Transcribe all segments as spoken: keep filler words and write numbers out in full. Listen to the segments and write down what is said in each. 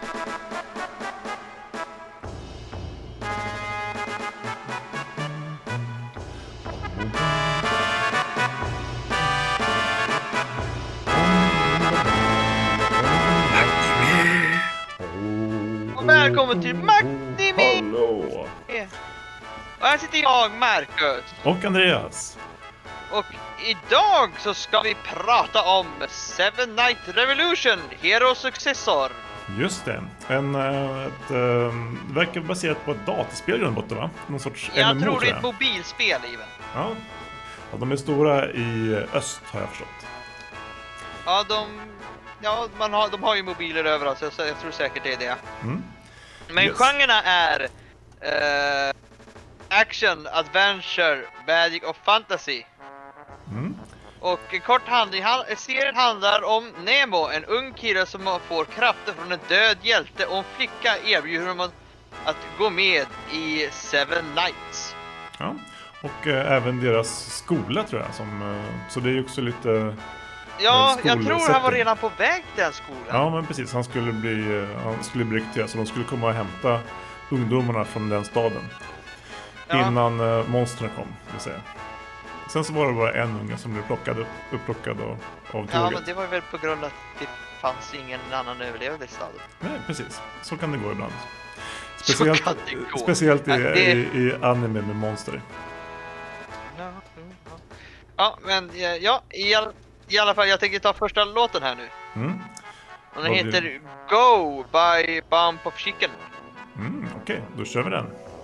Välkommen till Magnimi! Hallå! Och här sitter jag, Marcus. Och Andreas. Och idag så ska vi prata om Seven Night Revolution, Hero Successor. Just det. En, ett, äh, verkar baserat på ett dataspel i grund och botten, va? Någon sorts Jag M M O, tror det är jag. ett mobilspel, even. Ja. Ja, de är stora i öst, har jag förstått. Ja, de, ja man har, de har ju mobiler överallt, så jag tror säkert det är det. Mm. Men Yes. genrerna är uh, action, adventure, magic och fantasy. Mm. Och en kort handling, serien handlar om Nemo, en ung kille som får krafter från en död hjälte, och en flicka erbjuder honom att gå med i Seven Knights. Ja. Och äh, även deras skola, tror jag. Som, äh, så det är ju också lite... Ja, jag tror han var setting. redan på väg till den skolan. Ja, men precis. Han skulle bli, äh, han skulle bli rekryterad, så de skulle komma och hämta ungdomarna från den staden. Ja. Innan äh, monstren kom, vill säga. Sen så var det bara en unge som blev plockad upp, upplockad av, av tåget. Ja, men det var väl på grund av att det fanns ingen annan överlevande i staden. Nej, precis. Så kan det gå ibland. Så Speciellt, kan det gå. speciellt i, Ja, det- i, i anime med monster. Ja, mm, ja. Ja, men eh, ja, i, all, i alla fall, jag tänker ta första låten här nu. Mm. Och den Vad blir heter Go by Bump of Chicken. Mm, Okej, då kör vi den.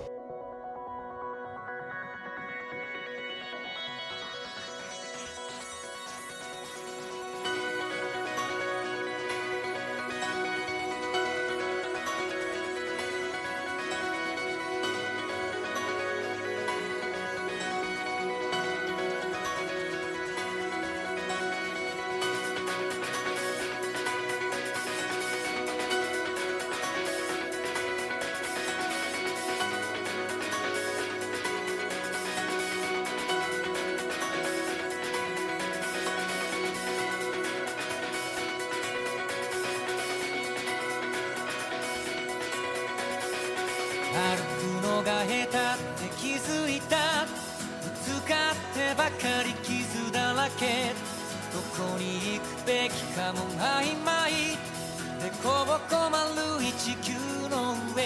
歩くのが下手って気づいたぶつかってばかり傷だらけどこに行くべきかも曖昧でこぼこ丸い地球の上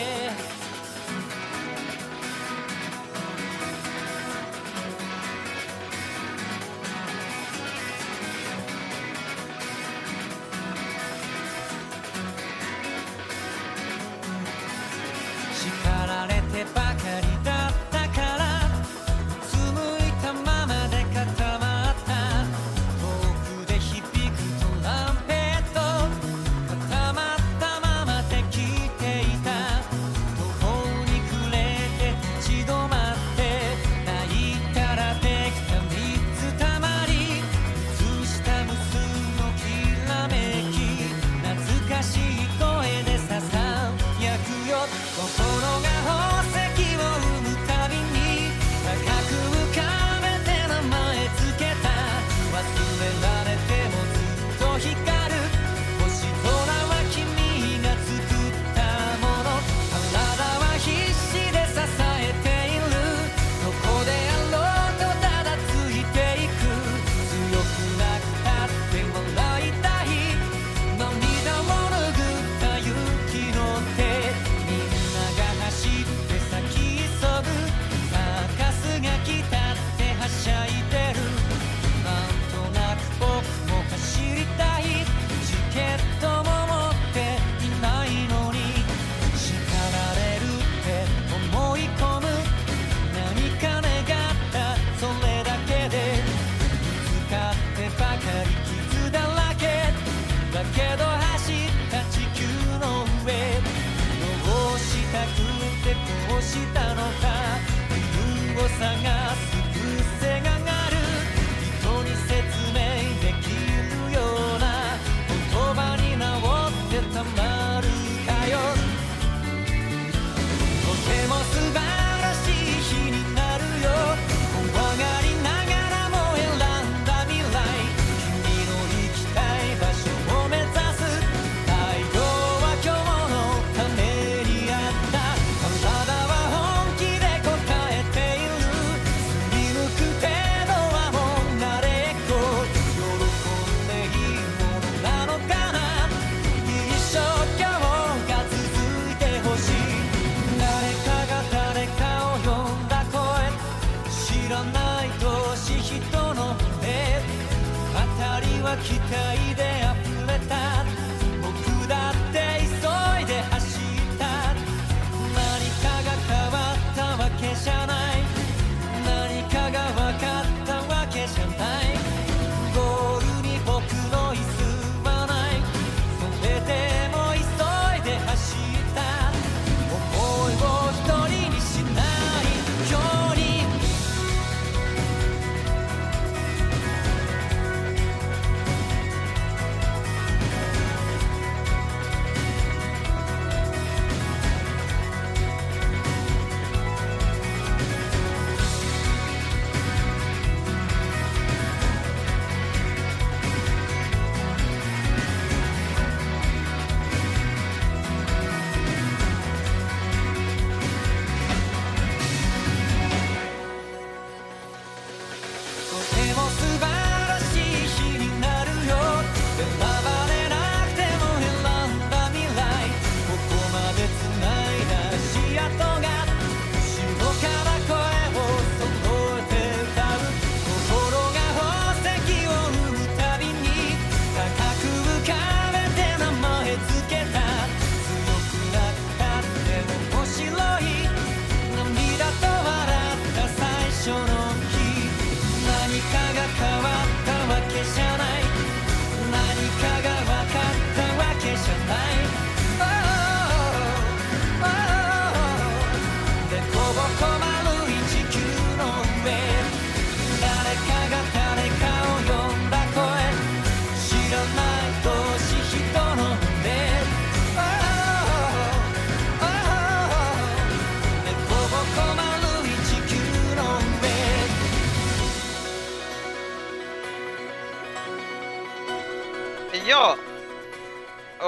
叱られてばかりだったからうつむいたままで固まった遠くで響くトランペット固まったままで聞いて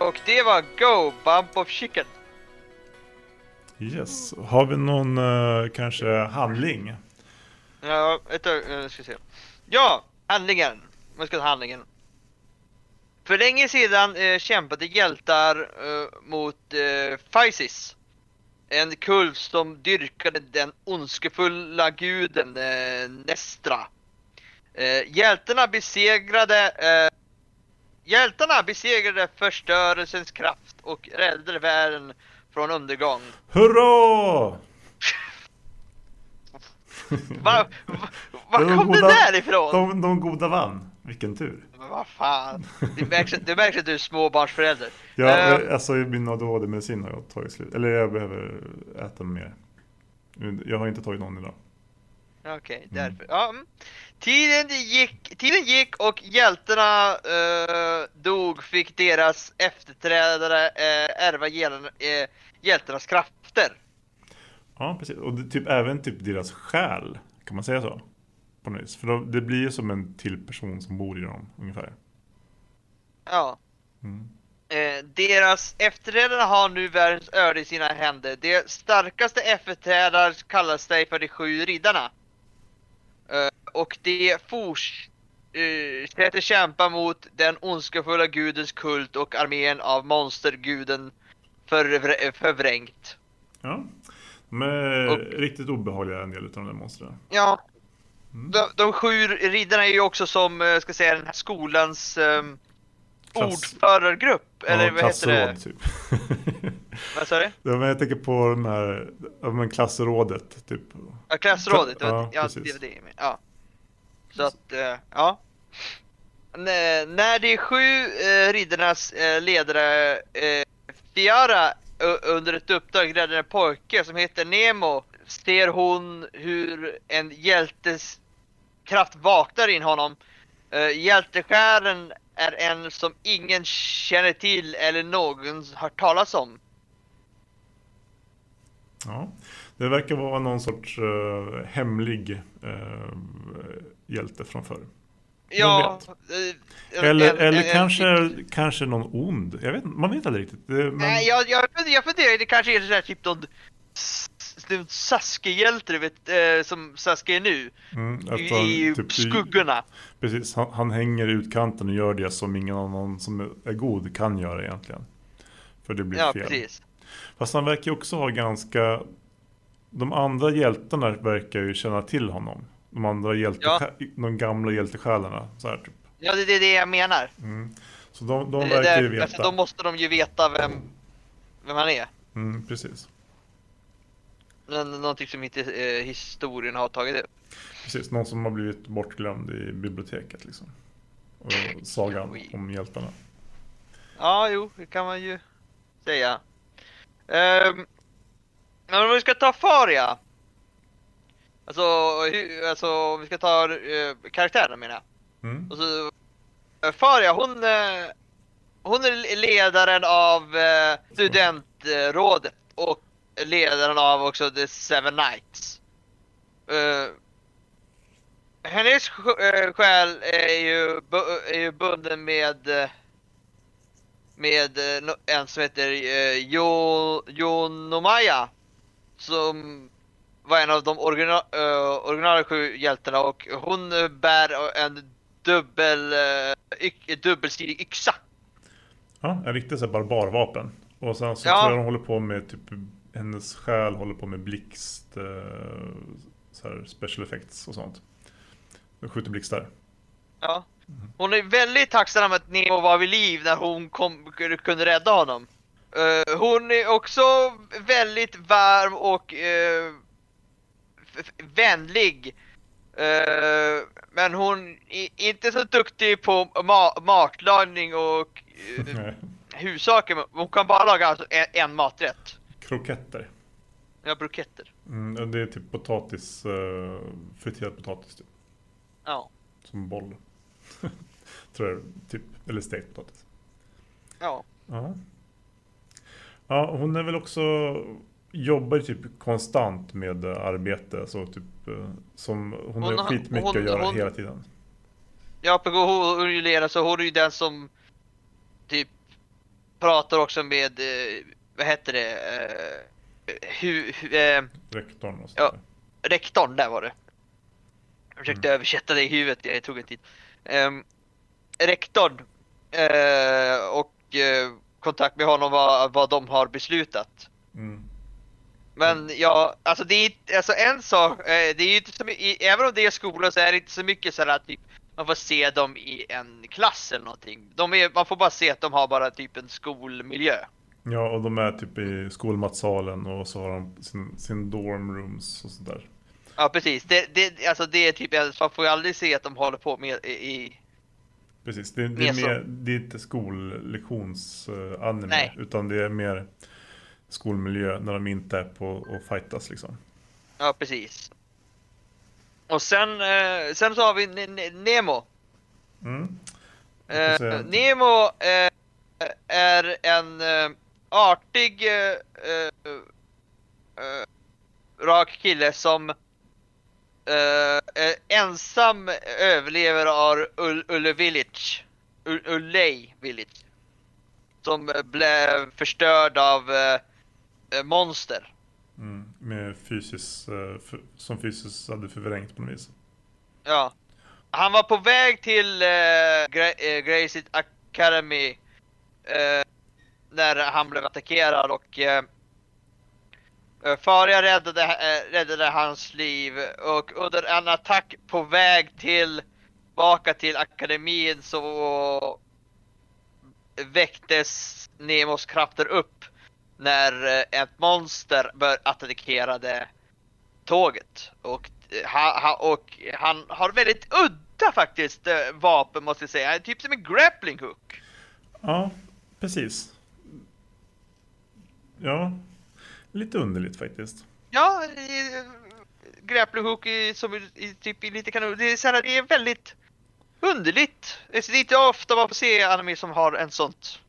och det var Go, Bump of Chicken. Yes. Har vi någon uh, kanske handling? Ja, vänta, jag ska se. Ja, handlingen. Man ska ta handlingen. För länge sedan eh, kämpade hjältar eh, mot eh, Physis. En kult som dyrkade den ondskefulla guden eh, Nestra. Eh, hjältarna besegrade eh, Hjältarna besegrade förstörelsens kraft och räddade världen från undergång. Hurra! Var va, va De kom goda- det där ifrån? De, de goda vann. Vilken tur. Men vad fan? Det märks, det märks att du är småbarnsförälder. Ja, Eh, alltså min A D H D-medicin har jag tagit slut. Eller jag behöver äta mer. Jag har inte tagit någon idag. Okej, okay, därför. Ja, mm. Tiden gick, tiden gick och hjältarna eh, dog, fick deras efterträdare eh, ärva hjältarna, eh, hjältarnas krafter. Ja, precis. Och det, typ även typ deras själ, kan man säga så? På något vis. För då, det blir ju som en till person som bor i dem, ungefär. Ja. Mm. Eh, deras efterträdare har nu världens öde i sina händer. De starkaste efterträdare kallas sig för de sju riddarna. Eh, och de fortsätter uh, kämpa mot den ondskefulla gudens kult och armén av monsterguden förvr- förvrängt. Ja. De är Och- riktigt obehagliga, en del av de där monstren. Ja. Mm. De, de sju riddarna är ju också som, eh, ska säga, den här skolans um, Klass- ordförargrupp. Eller Ja, vad heter det? klassråd, typ. Vad sa du? Ja, men jag tänker på de här, ja, men klassrådet, typ. Ja, klassrådet. Ja, Ja, ja, precis. det var det jag menade. Ja. Så att, eh, ja. N- när de sju eh, riddarnas eh, ledare eh, Fiara u- under ett uppdrag räddade en pojke som heter Nemo, ser hon hur en hjältes kraft vaknar in honom. Eh, hjälteskären är en som ingen känner till eller någon har talas om. Ja. Det verkar vara någon sorts uh, hemlig uh, hjälte från förr. Ja, eh, Eller, en- eller en- kanske, kanske någon ond. Jag vet, man vet aldrig riktigt. Det, men, Nej, jag, jag, jag funderar, det kanske är så här typ någon s- s- Sasuke-hjälte, du vet, eh, som Sasuke är nu. mm, att I, han, i typ, skuggorna. Precis, han, han hänger i utkanten och gör det som ingen annan som är god kan göra egentligen. För det blir Ja, fel. precis. Fast han verkar ju också ha ganska... De andra hjältarna verkar ju känna till honom. De andra hjälte, Ja. de gamla hjältesjälarna. Så här, typ. Ja, det, det är det jag menar. Mm. Så de, de Det- verkar ju där- veta. alltså, då måste de ju veta vem, vem han är. Mm, precis. Men någonting som inte eh, historien har tagit upp. Precis, någon som har blivit bortglömd i biblioteket liksom. Och sagan Oj. om hjältarna. Ja, jo, det kan man ju säga. Um, men om vi ska ta Faria. Alltså, hu- alltså om vi ska ta uh, karaktärerna menar jag. Mm. Och så, eh, Faria, hon, eh, hon är ledaren av eh, studentrådet och ledaren av också The Seven Knights. Eh, hennes sj- eh, själ är ju, bu- är ju bunden med eh, med eh, no- en som heter eh, Jo, Yonomaya, som var en av de origina, uh, originala sju hjältarna, och hon eh, bär en dubbel uh, y- dubbelsidig yxa. Ja, en riktig så här barbarvapen. Och sen så Ja. tror jag de håller på med typ, hennes själ håller på med blixt, eh, så här special effects och sånt. De skjuter blixtar. Ja. Hon är väldigt tacksam att Nemo var vid liv när hon kom, kunde rädda honom. Eh, hon är också väldigt varm och eh, f- f- vänlig. Eh, men hon är inte så duktig på ma- matlagning och uh, Nej. hussaker. Men hon kan bara laga alltså en, en maträtt. Kroketter. Ja, bruketter. Mm, och det är typ potatis, uh, friterad potatis typ. Ja. Som boll. Tror jag, typ. Eller stekt potatis. Ja. Ja. Ja, hon är väl också... Jobbar ju typ konstant med eh, arbete. Så typ... eh, Som, hon, Hon har har- skitmycket hon- att göra hon- hela tiden. Ja, på hon, hon är ju ledare, så hon är ju den som typ pratar också med, eh, vad heter det, eh, hu, hu, eh, Rektorn och ja, sådär. rektorn, där var det. Jag försökte Mm. översätta det i huvudet, jag tog en tid. Um, rektorn uh, och uh, kontakt med honom vad, vad de har beslutat. Mm. Men ja, alltså det är inte- alltså en sak, eh, det är ju inte så mycket, även om det är skola så är det inte så mycket så att typ, man får se dem i en klass eller någonting. De är, man får bara se att de har bara typ en skolmiljö. Ja, och de är typ i skolmatsalen och så har de sin, sin dorm rooms och sådär. Ja, precis. Det, det, alltså det är typ, man får ju aldrig se att de håller på med i... i Precis, det, det, Mer är, så. mer, det är inte skollektionsanime, Nej. utan det är mer skolmiljö när de inte är på och fightas liksom. ja, precis. Och sen, eh, sen så har vi N- N- Nemo. Mm. Jag får Eh, se. Nemo eh, är en eh, artig, eh, eh, eh, rak kille som eh, är ensam överlever av Ull- Ulle Village. Ull- Ulley Village. Som eh, blev förstörd av eh, eh, monster. Mm. Med fysis, eh, f- som fysiskt hade förvrängt på något vis. Ja. Han var på väg till eh, Gra- eh, Gracie Academy eh, när han blev attackerad och eh, eh, Faria räddade, eh, räddade hans liv och under en attack på väg till tillbaka till akademin så väcktes Nemos krafter upp när eh, ett monster bör attackerade tåget och Ha, ha, och han har väldigt udda faktiskt äh, vapen måste jag säga. Typ som en grappling hook. Ja, precis. Ja, lite underligt faktiskt. Ja, i, grappling hook i, som i, i, typ i lite kanon. Det är, så här, det är väldigt underligt. Det är inte ofta man får se anime som har en sånt.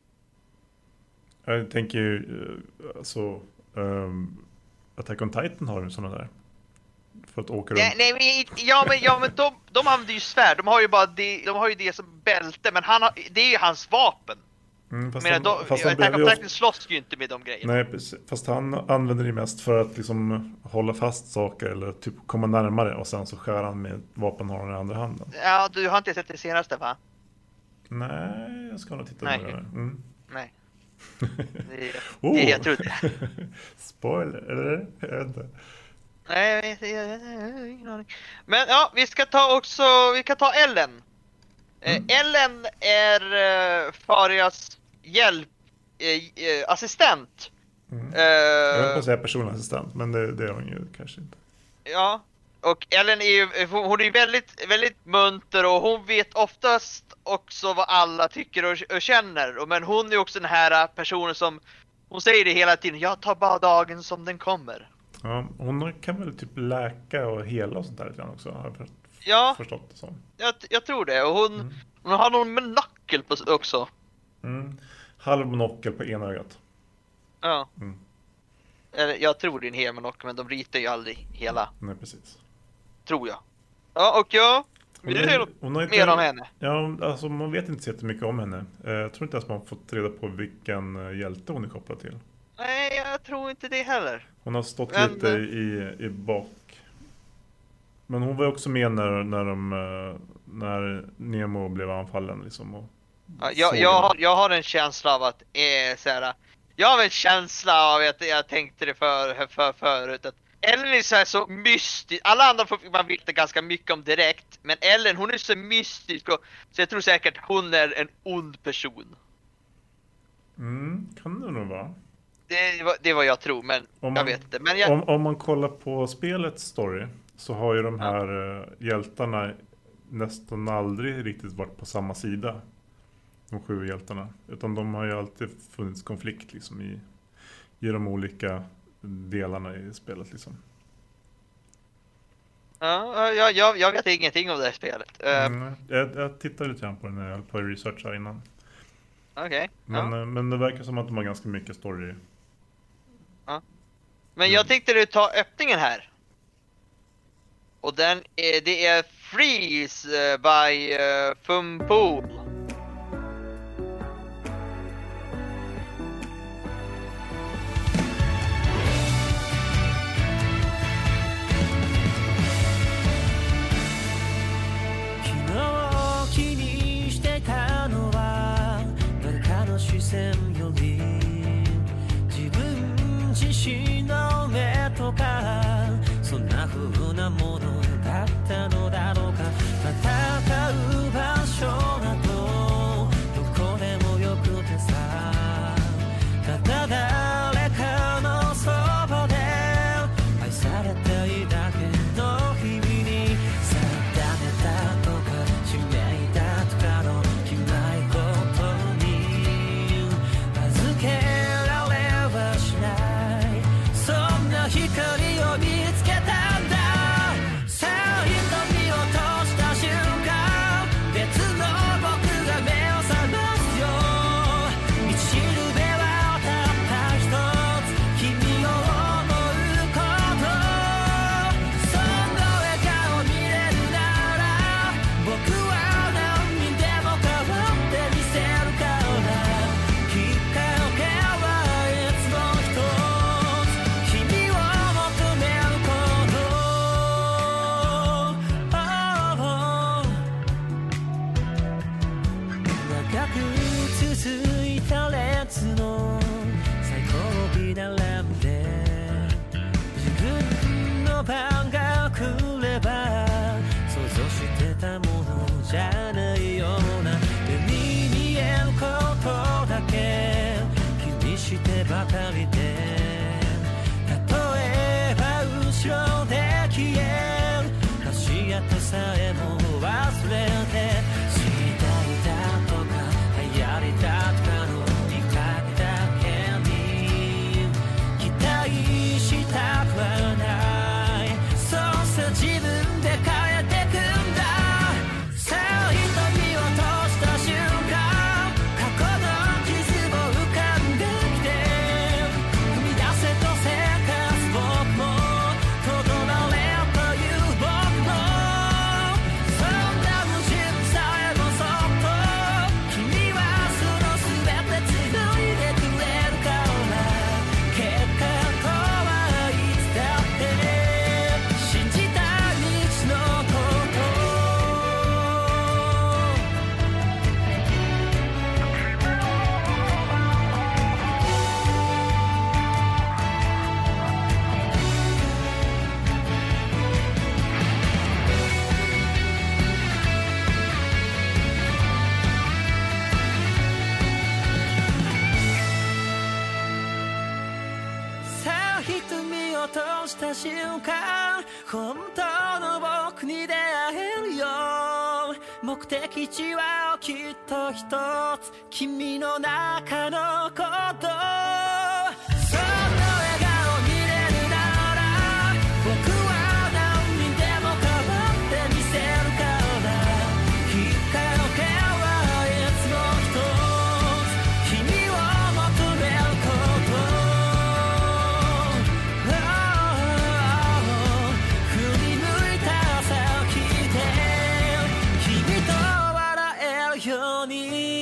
Jag tänker ju, eh, alltså, um, Attack on Titan har ju sådana där. För att åka runt. Nej, nej men, ja men, ja, men de, de använder ju svärd. De har ju bara det, de har ju det som bälte. Men han har, det är ju hans vapen. Mm, fast Men han, de, fast han Attack behöver on ju Titan ofta, slåss ju inte med de grejerna. nej, precis. Fast han använder det mest för att liksom hålla fast saker eller typ komma närmare och sen så skär han med vapen har han i andra handen. Ja, du har inte sett det senaste va? Nej, jag ska nog titta Nej. på det. Mm. Nej. Det, Oh! det jag trodde. Spoiler, eller? Jag vet inte. Nej, jag vet, jag, jag, jag har ingen aning. Men ja, vi ska ta också, vi kan ta Ellen. Mm. Eh, Ellen är uh, Farias hjälp, eh, eh, assistent. Mm. Eh, Jag vill inte säga personlig assistent, men det, det är hon ju kanske inte. Ja, och Ellen är ju, hon är ju väldigt, väldigt munter och hon vet oftast också vad alla tycker och, och känner. Och, men hon är också den här personen som, hon säger det hela tiden, jag tar bara dagen som den kommer. Ja, hon kan väl typ läka och hela och sånt där lite grann också, har jag för- Ja, förstått det som. jag, jag tror det. Och hon, Mm. hon har någon monokel på också. Mm. Halv monokel på ena ögat. Ja. Mm. Eller, jag tror det är en hel monokel, men de ritar ju aldrig hela, Nej, precis. tror jag. Ja, och jag vill du är- säga något hon har inte- mer om henne? Ja, alltså man vet inte så jättemycket om henne. Eh, Jag tror inte ens man har fått reda på vilken eh, hjälte hon är kopplad till. Nej, jag tror inte det heller. Hon har stått Men- lite i, i bak. Men hon var ju också med när, när, de, eh, när Nemo blev anfallen liksom. Och Ja, jag, såg jag, henne. har, jag har en känsla av att eh, så här, jag har en känsla av att jag tänkte det för, för, förut att Ellen är så, här så mystisk. Alla andra får man veta ganska mycket om direkt, men Ellen hon är så mystisk och, så jag tror säkert hon är en ond person. Mm, kan det nog vara. Det var, det var jag tror, men Om jag man- vet inte. Men jag, Om, om man kollar på spelets story så har ju de här eh, hjältarna nästan aldrig riktigt varit på samma sida. De sju hjältarna. Utan de har ju alltid funnits konflikt liksom i, i de olika delarna i spelet liksom. ja, jag, jag, jag vet ingenting om det här spelet. Uh, Mm, jag, jag tittade lite grann på den när jag höll på att researcha innan. Okej. Men, Ja. eh, men det verkar som att de har ganska mycket story. Men jag tänkte du ta öppningen här. Och den är, det är Freeze eh, by uh, Fumpool. 自信の目とかそんな風なものだったのだろうか戦う場所などどこでもよくてさただ誰かのそばで愛されていたけど日々に定めたとか使命だとかの決まり事に預けられはしないそんな光を見つけたんださあ瞳を閉じた瞬間別の僕が目を覚ますよ道しるべはたった一つ君を思うことその笑顔見れるなら僕は何にでも変わってみせるからきっかけはいつも一つ君を求めること長く続いた列の最後尾並んで自分の番が来れば想像してたものじゃないような目に見えることだけ気にしてばかりで例えば後ろで消える足跡さえも忘れて時代だとか流行りだとかの見かけだけに期待したくはないそうさ自分で変えてくんださあ瞳を閉じた瞬間過去の傷も浮かんできて踏み出せとせかす僕もとどまれという僕もそんな矛盾さえもそっと君はその全て繋いでくれるから結果とはいつだって信じた道のことさあ瞳を閉じた瞬間本当の僕に出会えるよ目的地はきっと一つ君の中のことその笑顔見れるなら僕は何にでも変わってみせるからきっかけはいつも一つ君を求めること振り向いた先で君と笑えるように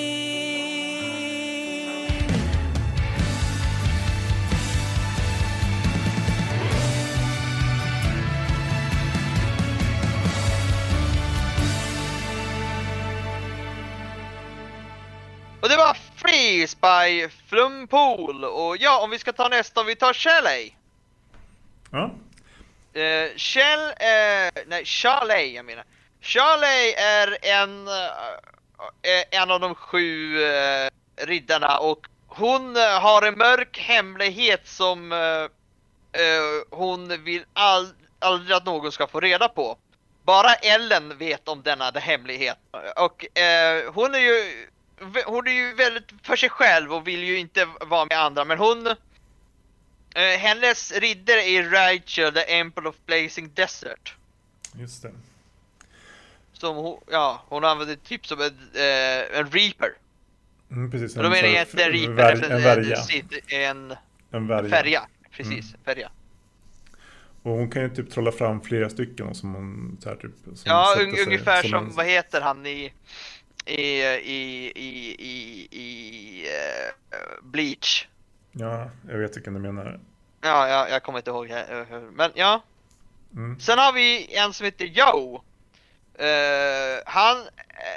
Och det var Freeze by Flumpool. Och ja, om vi ska ta nästa, om vi tar Shelley. Ja. Uh, Shell, uh, nej, Charley jag menar. Charley är en, uh, en av de sju uh, riddarna och hon uh, har en mörk hemlighet som uh, uh, hon vill all, aldrig att någon ska få reda på. Bara Ellen vet om denna hemlighet. Och uh, hon är ju hon är ju väldigt för sig själv och vill ju inte vara med andra, men hon eh, hennes riddare är Rachel, the Emperor of Blazing Desert. Just det. Som hon, ja, hon använder typ som en, eh, en reaper. Mm, precis. Och då menar jag inte en reaper, vär, en, en värja. En, en värja. Färja, precis, Mm. färja. Och hon kan ju typ trolla fram flera stycken som hon så här, typ som Ja, sätter un, sig ungefär som, en... vad heter han i i i i i, i uh, Bleach. Ja, jag vet vilken du menar. Ja, jag, jag kommer inte ihåg här, men ja. Mm. Sen har vi en som heter Joe. Uh, han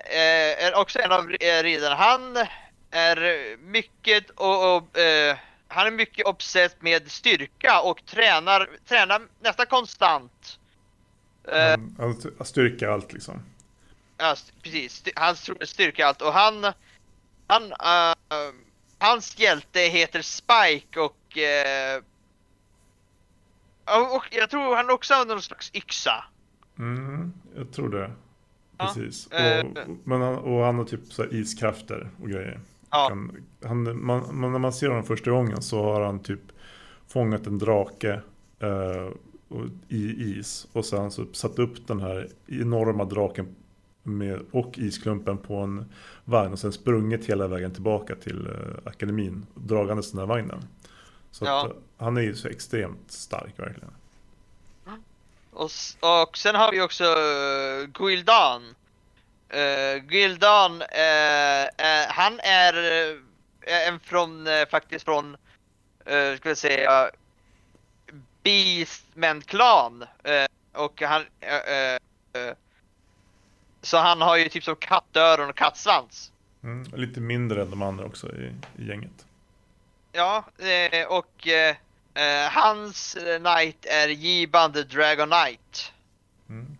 uh, är också en av riddarna. Han är mycket och, och uh, han är mycket obsessed med styrka och tränar, tränar nästan konstant. Uh, Han, han styrker allt liksom. Ja, precis. Han styrker allt. Och han... han uh, hans hjälte heter Spike och... Uh, och jag tror han också har någon slags yxa. Mm, jag tror det. Ja. Precis. Uh, och, men han, och han har typ så här iskrafter och grejer. Ja. Han, han, man, man, när man ser honom första gången så har han typ fångat en drake uh, i is. Och sen så satt upp den här enorma draken med, och isklumpen på en vagn och sen sprungit hela vägen tillbaka till uh, akademin dragandes den här vagnen. Så Ja. att, uh, han är ju så extremt stark verkligen. Och, och sen har vi också uh, Gul'dan. Uh, Gul'dan, uh, uh, han är uh, en från, uh, faktiskt från, uh, ska vi säga, Beastman-klan. Uh, och han, uh, uh, så han har ju typ som kattöron och kattsvans. Mm, lite mindre än de andra också i, i gänget. Ja, uh, och uh, uh, hans knight är Yiban the Dragon Knight. Mm.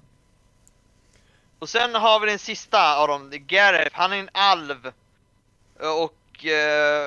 Och sen har vi den sista av dem, Gareth. Han är en alv. Och uh,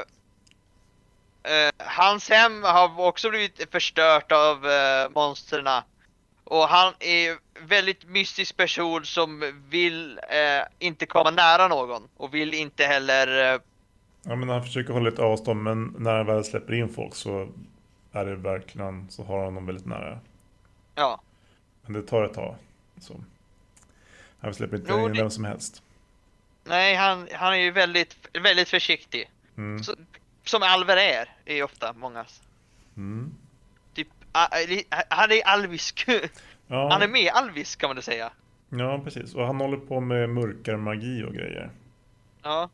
uh, hans hem har också blivit förstört av uh, monsterna. Och han är väldigt mystisk person som vill uh, inte komma nära någon. Och vill inte heller... Uh, Ja, men han försöker hålla ett avstånd, men när han väl släpper in folk så är det verkligen, så har han dem väldigt nära. ja. Men det tar ett tag. Så. Han släpper inte Jo, in det- vem som helst. Nej, han, han är ju väldigt, väldigt försiktig. Mm. Så, som alver är, är ju ofta många. Mm. Typ, uh, li- han är alvisk. Ja, Han är med alvisk kan man det säga. ja, precis. Och han håller på med mörkare magi och grejer. Ja.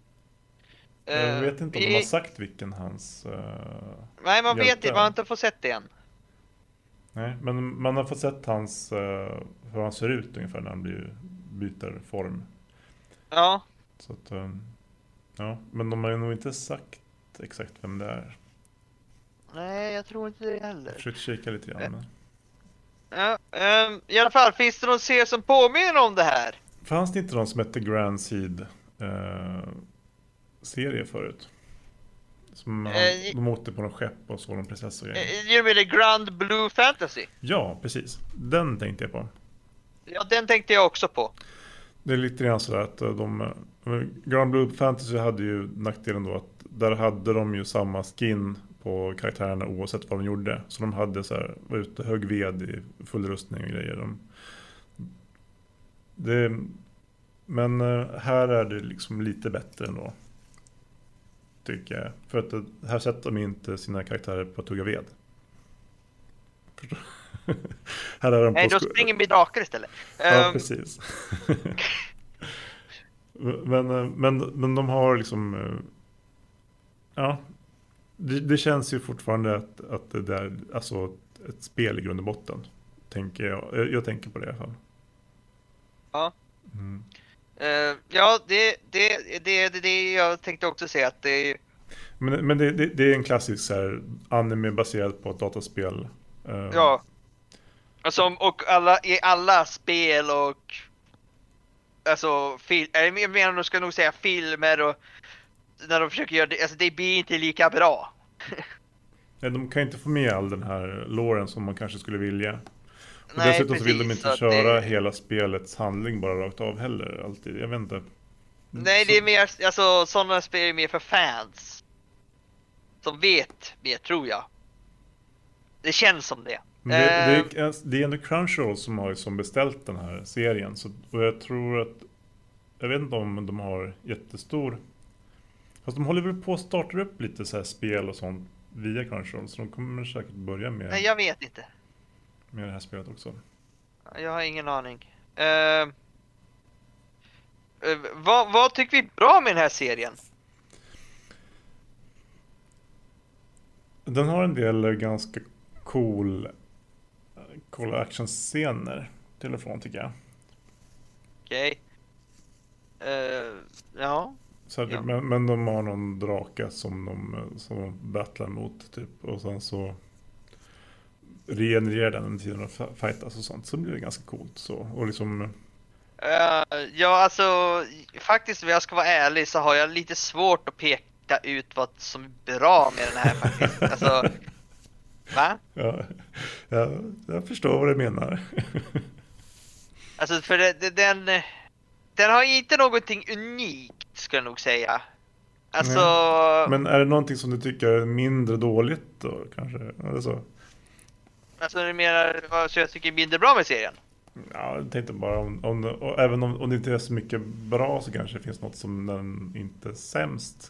Jag Eh, vet inte om vi- de har sagt vilken hans... Uh, Nej, man vet hjälte inte, man har inte fått sett det än. nej, men man har fått sett hans, uh, hur han ser ut ungefär när han blir, byter form. Ja, Så att, um, ja, men de har ju nog inte sagt exakt vem det är. nej jag tror inte det Jag heller. försökte kika lite grann. Men... Ja, ehm, i alla fall, finns det någon serie som påminner om det här? Fanns det inte någon som hette Grand Seed uh, serie förut? Som han, Eh, de åkte på någon skepp och såg en prinsessa och grejer. Eh, Genom det Grand Blue Fantasy. Ja, precis. Den tänkte jag på. Ja, den tänkte jag också på. Det är lite grann sådär att de... eh, Grand Blue Fantasy hade ju nackdelen då att där hade de ju samma skin på karaktärerna oavsett vad de gjorde. Så de hade så här, var ute och högg ved i full rustning och grejer. De, det, men eh, här är det liksom lite bättre ändå. Tycker jag. För att det- här sätter de inte sina karaktärer på att tugga ved. Förstår? Här är de Nej, på då sko- springer vi drakar istället. Ja, Ehm, precis. men, eh, men, men de har liksom... eh, Ja, det, det känns ju fortfarande att, att det där, alltså ett spel i grund och botten. Tänker jag, jag, jag tänker på det i alla fall. Ja. Mm. eh, ja, det, det, det, det, det jag tänkte också säga att det är... Men, men det, det, det är en klassisk så här, anime baserad på ett dataspel. Eh, Ja. Alltså, och alla, i alla spel och... Alltså, fil, jag menar, de ska nog säga filmer och... När de försöker göra det, alltså det blir inte lika bra. nej, de kan inte få med all den här loren som man kanske skulle vilja. Och Nej, dessutom så vill de precis, inte så att köra det- hela spelets handling bara rakt av heller. Alltid. Jag vet inte. Nej, det är mer, alltså sådana spel är mer för fans. Som vet mer, tror jag. Det känns som det. Men det, Eh, det, är, det är ändå Crunchyroll som har som beställt den här serien. Så, och jag tror att... Jag vet inte om de har jättestor... Fast de håller väl på att starta upp lite så här spel och sånt via Crunchyroll. Så de kommer säkert börja med, Nej, jag vet inte. med det här spelet också. Jag har ingen aning. Eh, eh, vad, vad tycker vi är bra med den här serien? Den har en del ganska cool, coola actionscener till och från tycker jag. Okej. Eh, ja. Så här, Ja. men, men de har någon drake som de, som de battlar mot typ. Och sen så regenererar den under tiden de fightas och sånt. Så blir det ganska coolt. Så. Och liksom... Uh, ja, alltså faktiskt om jag ska vara ärlig så har jag lite svårt att peka ut vad som är bra med den här faktiskt. Alltså, va? Ja, ja, jag förstår vad du menar. Alltså för det, det, den, den har inte någonting unikt skulle jag nog säga. Alltså... Men är det någonting som du tycker är mindre dåligt då kanske? Eller så? Alltså det är mer vad så jag tycker är mindre bra med serien. Ja, jag tänkte bara om, om och även om, om det inte är så mycket bra så kanske det finns något som den inte är sämst.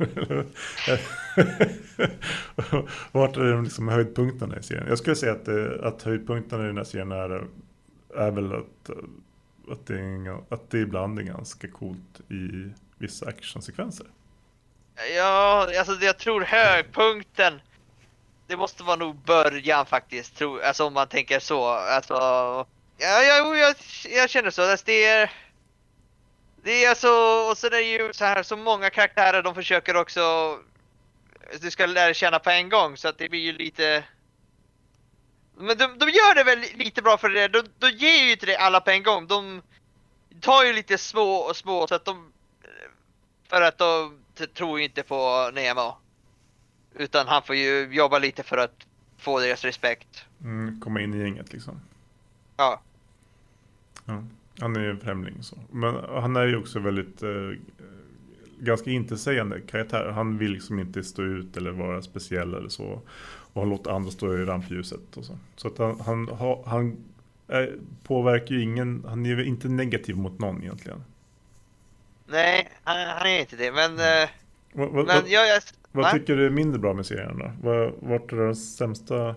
Vart är de liksom höjdpunkterna i serien? Jag skulle säga att, det, att höjdpunkterna i den här serien är, är väl att, att, det är, att det ibland är ganska coolt i vissa actionsekvenser. Ja, alltså jag tror högpunkten det måste vara nog början faktiskt, tror, alltså om man tänker så. Alltså, ja, jag, jag, jag känner så. Alltså, det är det är alltså, och så är det ju så här så många karaktärer de försöker också du ska lära känna på en gång så att det blir ju lite. Men de, de gör det väl lite bra för det. De, de ger ju inte det alla på en gång. De tar ju lite små och små så att de för att de tror ju inte på Nemo. Utan han får ju jobba lite för att få deras respekt. Mm, komma in i gänget liksom. Ja. Ja, han är ju en främling så. Men han är ju också väldigt eh, ganska intetsägande karaktär. Han vill liksom inte stå ut eller vara speciell eller så. Och han låter andra stå i rampljuset och så. Så att han, han, han är, påverkar ju ingen, han är inte negativ mot någon egentligen. Nej, han, han är inte det, men... Mm. Vad, vad, men jag, jag, vad tycker du är mindre bra med serien då? Vad, vart är det sämsta...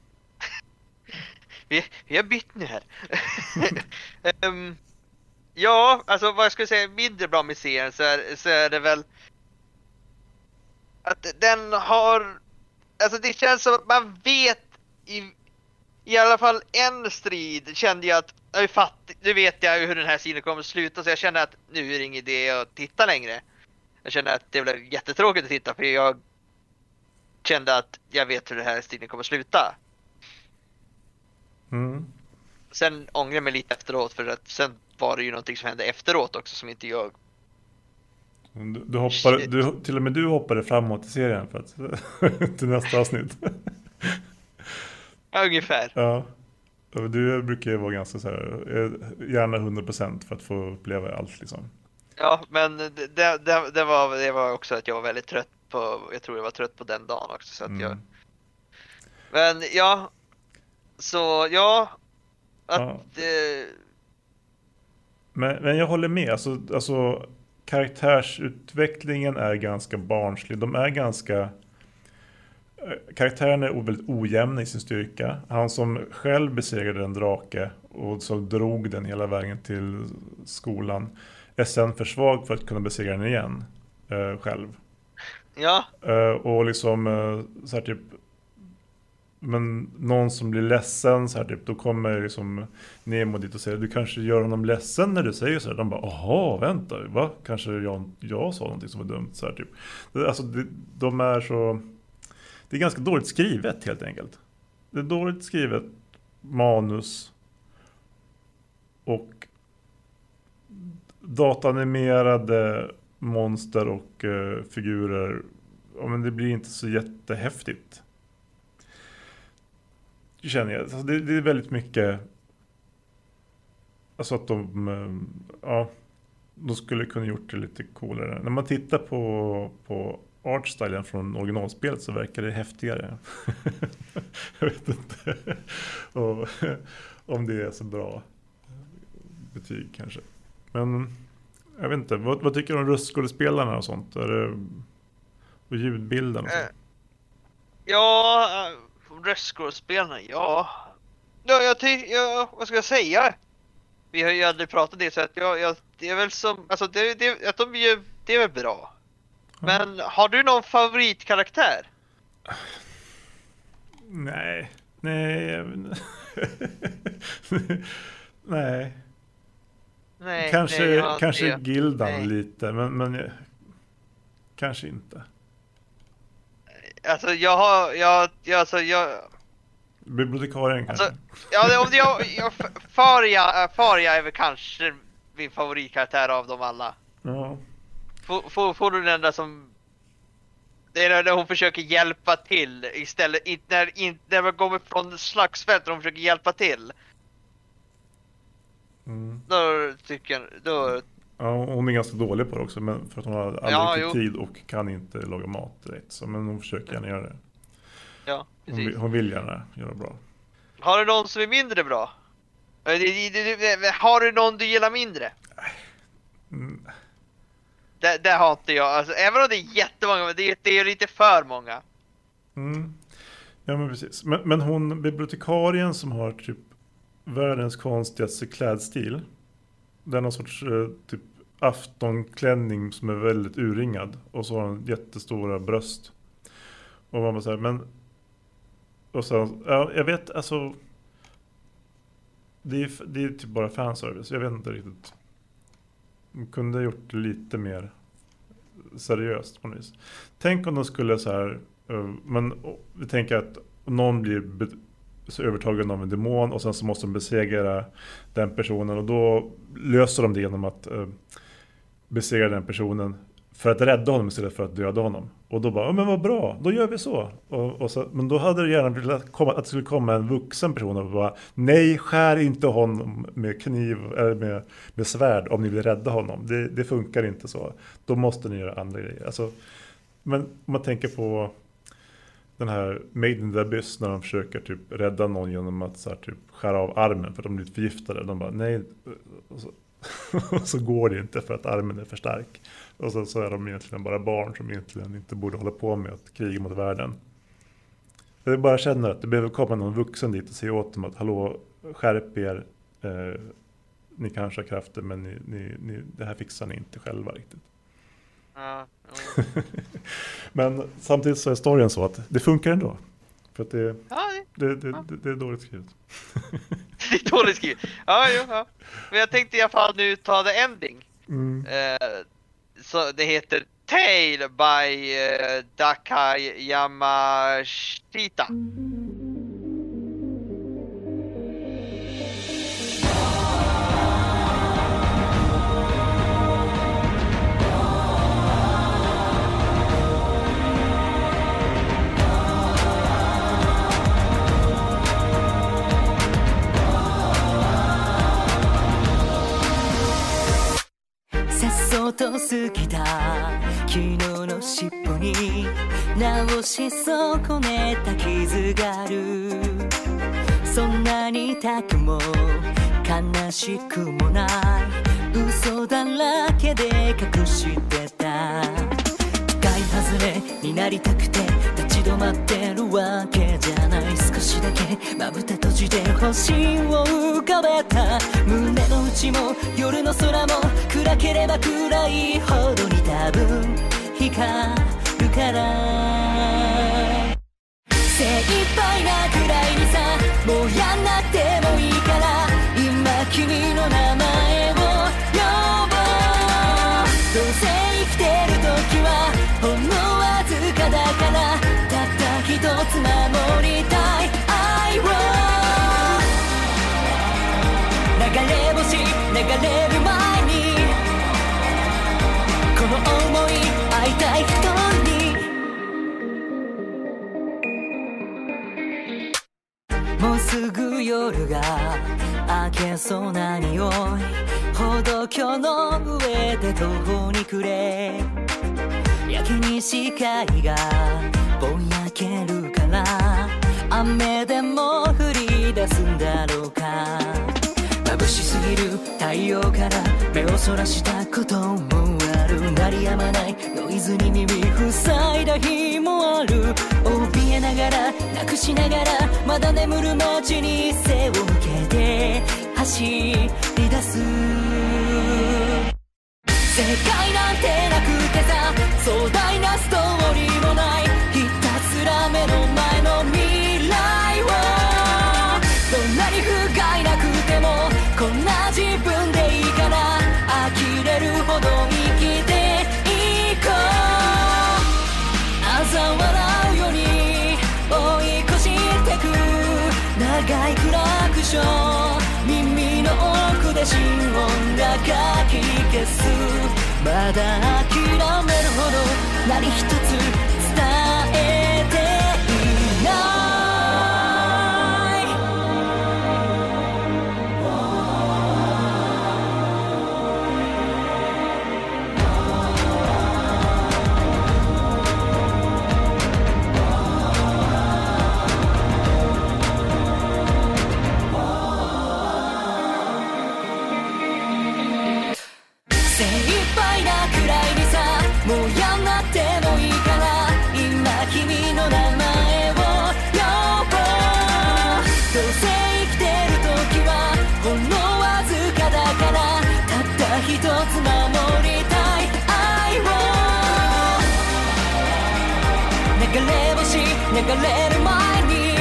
vi, vi har bytt nu här. um, ja, alltså vad jag skulle säga mindre bra med serien så är, så är det väl... Att den har... Alltså det känns som att man vet i, i alla fall en strid kände jag att jag är fattig, nu vet jag hur den här sidan kommer att sluta så jag känner att nu är det ingen idé att titta längre. Jag kände att det blev jättetråkigt att titta för jag kände att jag vet hur den här striden kommer att sluta. Mm. Sen ångrar jag mig lite efteråt för att sen var det ju någonting som hände efteråt också som inte jag. Du, du hoppade, du, till och med du hoppade framåt i serien för att, till nästa avsnitt. Ja, ungefär. Ja. Du brukar ju vara ganska så här, gärna hundra procent för att få uppleva allt liksom. Ja, men det, det, det, var, det var också att jag var väldigt trött på, jag tror jag var trött på den dagen också så att Mm. jag. Men ja, så ja, att Ja. eh, Men, men jag håller med, alltså, alltså karaktärsutvecklingen är ganska barnslig. De är ganska... Karaktären är väldigt ojämna i sin styrka. Han som själv besegrade en drake och så drog den hela vägen till skolan är sen för svag för att kunna besegra den igen eh, själv. ja, Eh, och liksom eh, så här typ... Men någon som blir ledsen så här typ, då kommer liksom Nemo dit och säger du kanske gör honom ledsen när du säger så här. De bara, aha, vänta, va? Kanske jag, jag sa någonting som var dumt så här typ. Alltså de, de är så... Det är ganska dåligt skrivet helt enkelt. Det är dåligt skrivet manus och datanimerade monster och uh, figurer. Ja, men det blir inte så jättehäftigt. Det känner jag. Alltså det, det är väldigt mycket... Alltså att de... Uh, ja, de skulle kunna gjort det lite coolare. När man tittar på... på artstylen från originalspelet så verkar det häftigare. Jag vet inte och, om det är så bra betyg kanske. Men jag vet inte. Vad, vad tycker du om röstskådespelarna och sånt? Är det, och ljudbilden och sånt? ja, röstskådespelarna, ja. Ja, jag tycker, ja, vad ska jag säga? Vi har ju aldrig pratat det så att jag, jag det är väl som, alltså det, det, att de är, det är väl bra. Men har du någon favoritkaraktär? Nej. Nej. Nej. Nej, Kanske, nej, jag har kanske inte det. Gildan Nej. lite. Men, men kanske inte. Alltså jag har, jag, jag, alltså jag... Bibliotekarien kanske. Alltså, ja, det, om det, jag, jag, Faria, Faria är väl kanske min favoritkaraktär av dem alla. Ja. Får, får, får du den enda som... Det är när hon försöker hjälpa till istället, inte när, inte när man kommer från slagsfält och hon försöker hjälpa till. Mm. Då tycker jag, då... Ja, hon är ganska dålig på det också, men för att hon har aldrig Ja, riktigt jo. tid och kan inte laga mat direkt. Så, men hon försöker gärna göra det. Ja, Hon, precis. vill- hon vill gärna göra bra. Har du någon som är mindre bra? Eh, det- det- det- det- Har du någon du gillar mindre? Mm. Det, det har inte jag, alltså, även om det är jättemånga, men det, är- det är lite för många. Mm. Ja, men precis. Men, men hon, bibliotekarien som har typ världens konstigaste klädstil. Den har någon sorts eh, typ aftonklänning som är väldigt urringad. Och så har hon jättestora bröst. Och man bara säger, men... Och så, ja, jag vet, alltså... Det är, det är typ bara fanservice. Jag vet inte riktigt. De kunde ha gjort det lite mer seriöst på något vis. Tänk om de skulle så här... eh, Men oh, vi tänker att någon blir be- så övertagen av en demon och sen så måste de besegra den personen. Och då löser de det genom att eh, besegra den personen för att rädda honom istället för att döda honom. Och då bara, ja men vad bra, då gör vi så. Och, och så men då hade det gärna velat komma, att det skulle komma en vuxen person och bara, nej, skär inte honom med kniv eller med, med svärd om ni vill rädda honom. Det, det funkar inte så. Då måste ni göra andra grejer. Alltså, men om man tänker på den här Made in the Abyss när de försöker typ rädda någon genom att så här, typ skära av armen för att de blir förgiftade. De bara, nej. Och så, och så går det inte för att armen är för stark. Och så, så är de egentligen bara barn som egentligen inte borde hålla på med att kriga mot världen. Jag bara känner att det behöver komma någon vuxen dit och säga åt dem att hallå, skärp er. Eh, ni kanske har krafter men ni, ni, ni, det här fixar ni inte själva riktigt. Ja, ja. Men samtidigt så är storyn så att det funkar ändå. För att det, Ja, det, det, det, det, det är dåligt skrivet. det är dåligt skrivet. Ja, jo, ja. Men jag tänkte i alla fall nu ta the ending. Mm. Eh, så det heter Tale by eh, Dakai Yamashita. さっそうと過ぎた昨日の尻尾に直し損ねた傷があるそんなに痛くも悲しくもない嘘だらけで隠してた買い外れになりたくて立ち止まってるわけじゃない少しだけまぶた閉じて星を浮かべた胸の内も夜の空も暗ければ暗いほどに多分光るから精一杯なくらいにさもうやんなくてもいいから今君の名前を呼ぼうどうせ生きてる時はほんのわずかだからたった一つ守りたい愛を流れ星流れる前にこの想い会いたい人にもうすぐ夜が明けそうな匂い歩道橋の上で途方に暮れやけに視界がぼやけるから雨でも降り出すんだろうか眩しすぎる太陽から目をそらしたこともある鳴り止まないノイズに耳塞いだ日もある怯えながらなくしながらまだ眠る街に背を向けて走り出す正解なんてなくてさ壮大なストーリーもないひたすら目の前の未来をどんなに不甲斐なくてもこんな自分でいいから呆れるほど生きていこうでしょう耳の奥で心音がかき消すまだ諦めるほど何一つ伝えていない精一杯なくらいにさもうやんなってもいいから今君の名前を呼ぼうどうせ生きてる時はほんのわずかだからたった一つ守りたい愛を流れ星流れる前に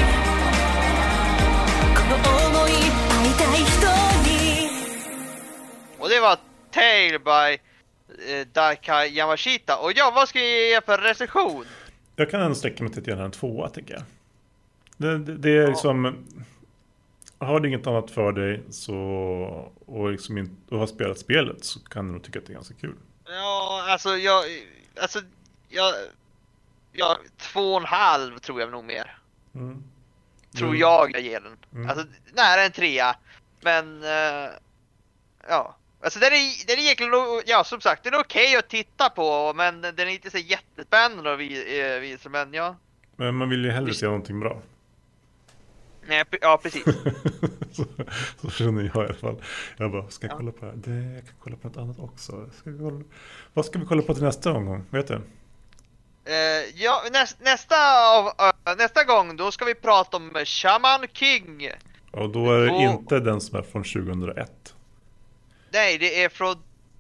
この想い会いたい人に Och det var Tale by eh, Daika Yamashita. Och ja, vad ska jag ge för recension? Jag kan ändå sträcka mig till att göra en tvåa, tycker jag. Det, det, det är liksom... Har du inget annat för dig så, och, liksom in, och har spelat spelet så kan du nog tycka att det är ganska kul. Ja, alltså jag... Alltså, jag... Ja, två och en halv tror jag nog mer. Mm. Tror Mm. jag jag ger den. Mm. Alltså, nära en trea. Men... Eh, ja... Alltså den är, den är egentligen, ja som sagt, den är okej att titta på, men den är inte så jättespännande att visa, men ja. Men man vill ju hellre se någonting bra. Nej, ja, precis. så, så känner jag i alla fall. Jag bara, ska jag Ja. kolla på det här? Det, jag kan kolla på något annat också. Ska jag kolla... Vad ska vi kolla på till nästa omgång? Vet du? Uh, ja, näst, nästa, av, uh, nästa gång då ska vi prata om Shaman King. Och då är det Och- inte den som är från tjugohundraett. Nej, det är från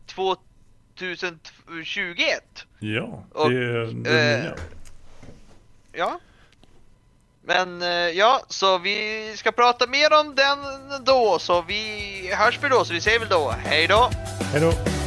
tjugohundratjugoett. Ja, det Och, är den eh, nya. Ja. Men uh, ja, så vi ska prata mer om den då, så vi hörs vi då, så vi säger väl då, hej då! Hej då!